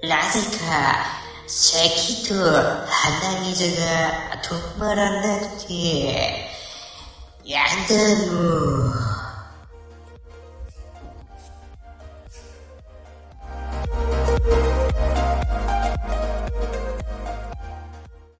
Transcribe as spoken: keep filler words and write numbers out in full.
なぜか咳と鼻水が止まらなくて、やだもう。